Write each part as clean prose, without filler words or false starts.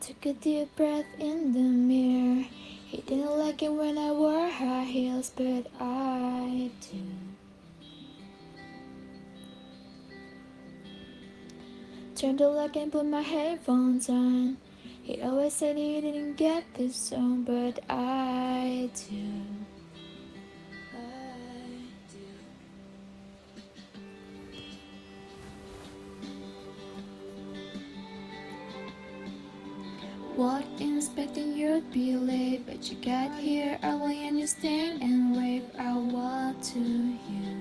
Took a deep breath in the mirror. He didn't like it when I wore high heels, but I do. Turned the light and put my headphones on. He always said he didn't get this song, but I do. Walked in expecting you'd be late, but you got here early and you stayed and waved. I walked to you.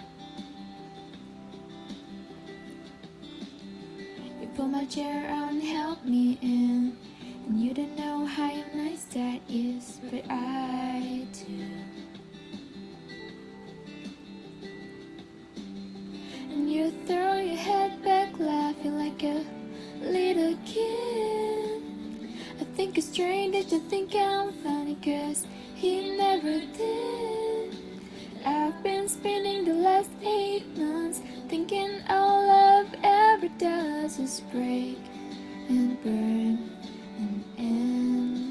You pulled my chair out and helped me in, and you don't know how nice that is, but I do. And you throw your head back laughing like a little kid. I think it's strange that you think I'm funny, cause he never did. I've been spending the last 8 months thinking all love ever does is break and burn and end.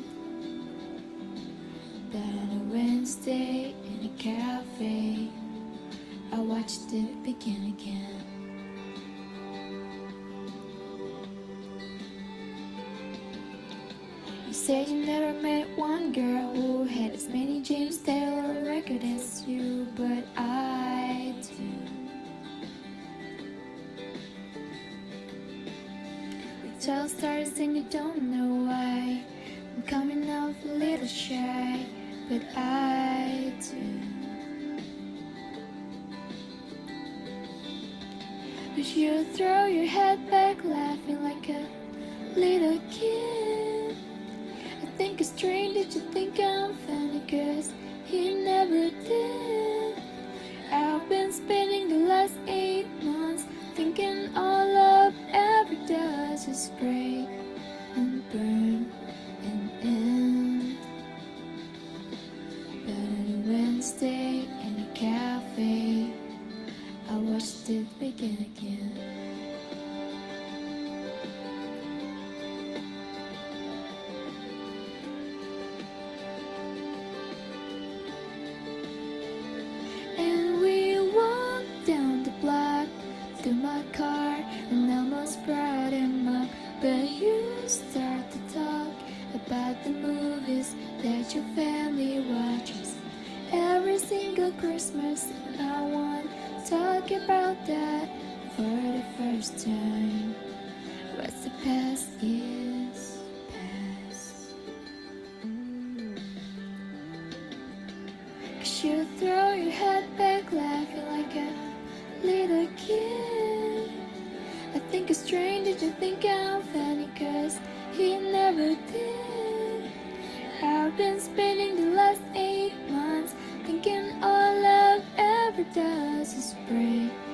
But on a Wednesday in a cafe, I watched it begin again. You said you never met one girl who had as many James Taylor records as you, but I do. We tell stories and you don't know why. I'm coming off a little shy, but I do. But you throw your head back laughing like a little kid. I think it's strange that you think I'm funny, cause he never did. I've been spending the last 8 months thinking all love ever does is break and burn and end. But on a Wednesday in a cafe, I watched it begin again. And we walked down the block to my car and almost brought him up. But you start to talk about the movies that your family watches every single Christmas. I want to talk about that for the first time. What's the past is past. Cause you throw your head back laughing like a little kid. I think it's strange that you think I'm funny, cause he never did. I've been spending the last 8 months thinking all love ever does is break